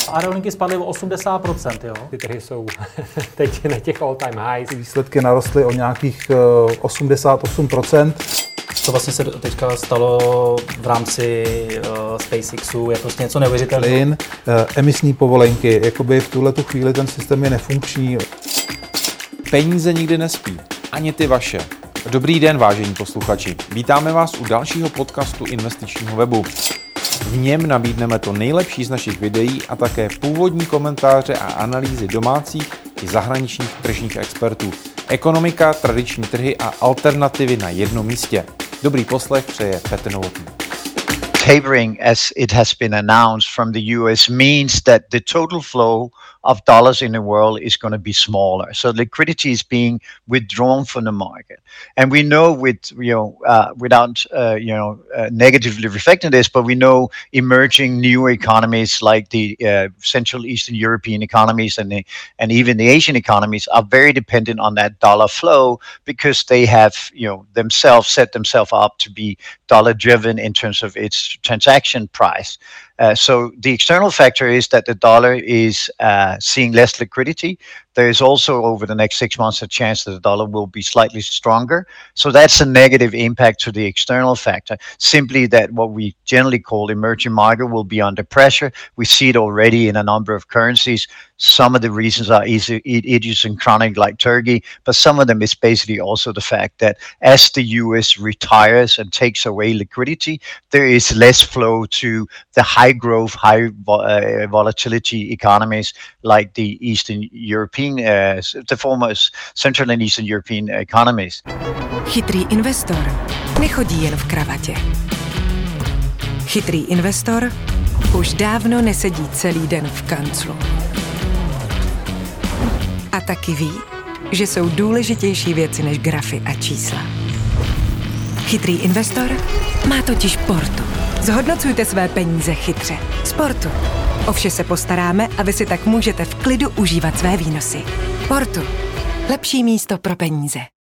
Aerolinky spadly o 80%, jo. Ty trhy jsou teď na těch all-time highs. Výsledky narostly o nějakých 88%. Co vlastně se teďka stalo v rámci SpaceXu, je prostě něco neuvěřitelného. Emisní povolenky, jakoby v tuhletu chvíli ten systém je nefunkční. Peníze nikdy nespí, ani ty vaše. Dobrý den, vážení posluchači. Vítáme vás u dalšího podcastu investičního webu. V něm nabídneme to nejlepší z našich videí a také původní komentáře a analýzy domácích i zahraničních tržních expertů. Ekonomika, tradiční trhy a alternativy na jednom místě. Dobrý poslech přeje Petr Novotný. Tapering, as it has been announced from the US, means that the total flow of dollars in the world is going to be smaller. So liquidity is being withdrawn from the market, and we know without negatively reflecting this, but we know emerging new economies like the Central Eastern European economies and even the Asian economies are very dependent on that dollar flow because they have themselves set themselves up to be dollar driven in terms of its transaction price. So the external factor is that the dollar is seeing less liquidity. There is also over the next 6 months a chance that the dollar will be slightly stronger. So that's a negative impact to the external factor. Simply that what we generally call emerging market will be under pressure. We see it already in a number of currencies. Some of the reasons are idiosyncratic like Turkey, but some of them is basically also the fact that as the US retires and takes away liquidity, there is less flow to the high growth, high volatility economies like the Eastern European, the former Central and Eastern European economies. Chytrý investor nechodí jen v kravatě. Chytrý investor už dávno nesedí celý den v kanclu. A taky ví, že jsou důležitější věci než grafy a čísla. Chytrý investor má totiž Portu. Zhodnocujte své peníze chytře. S Portu. O vše se postaráme a vy si tak můžete v klidu užívat své výnosy. Portu. Lepší místo pro peníze.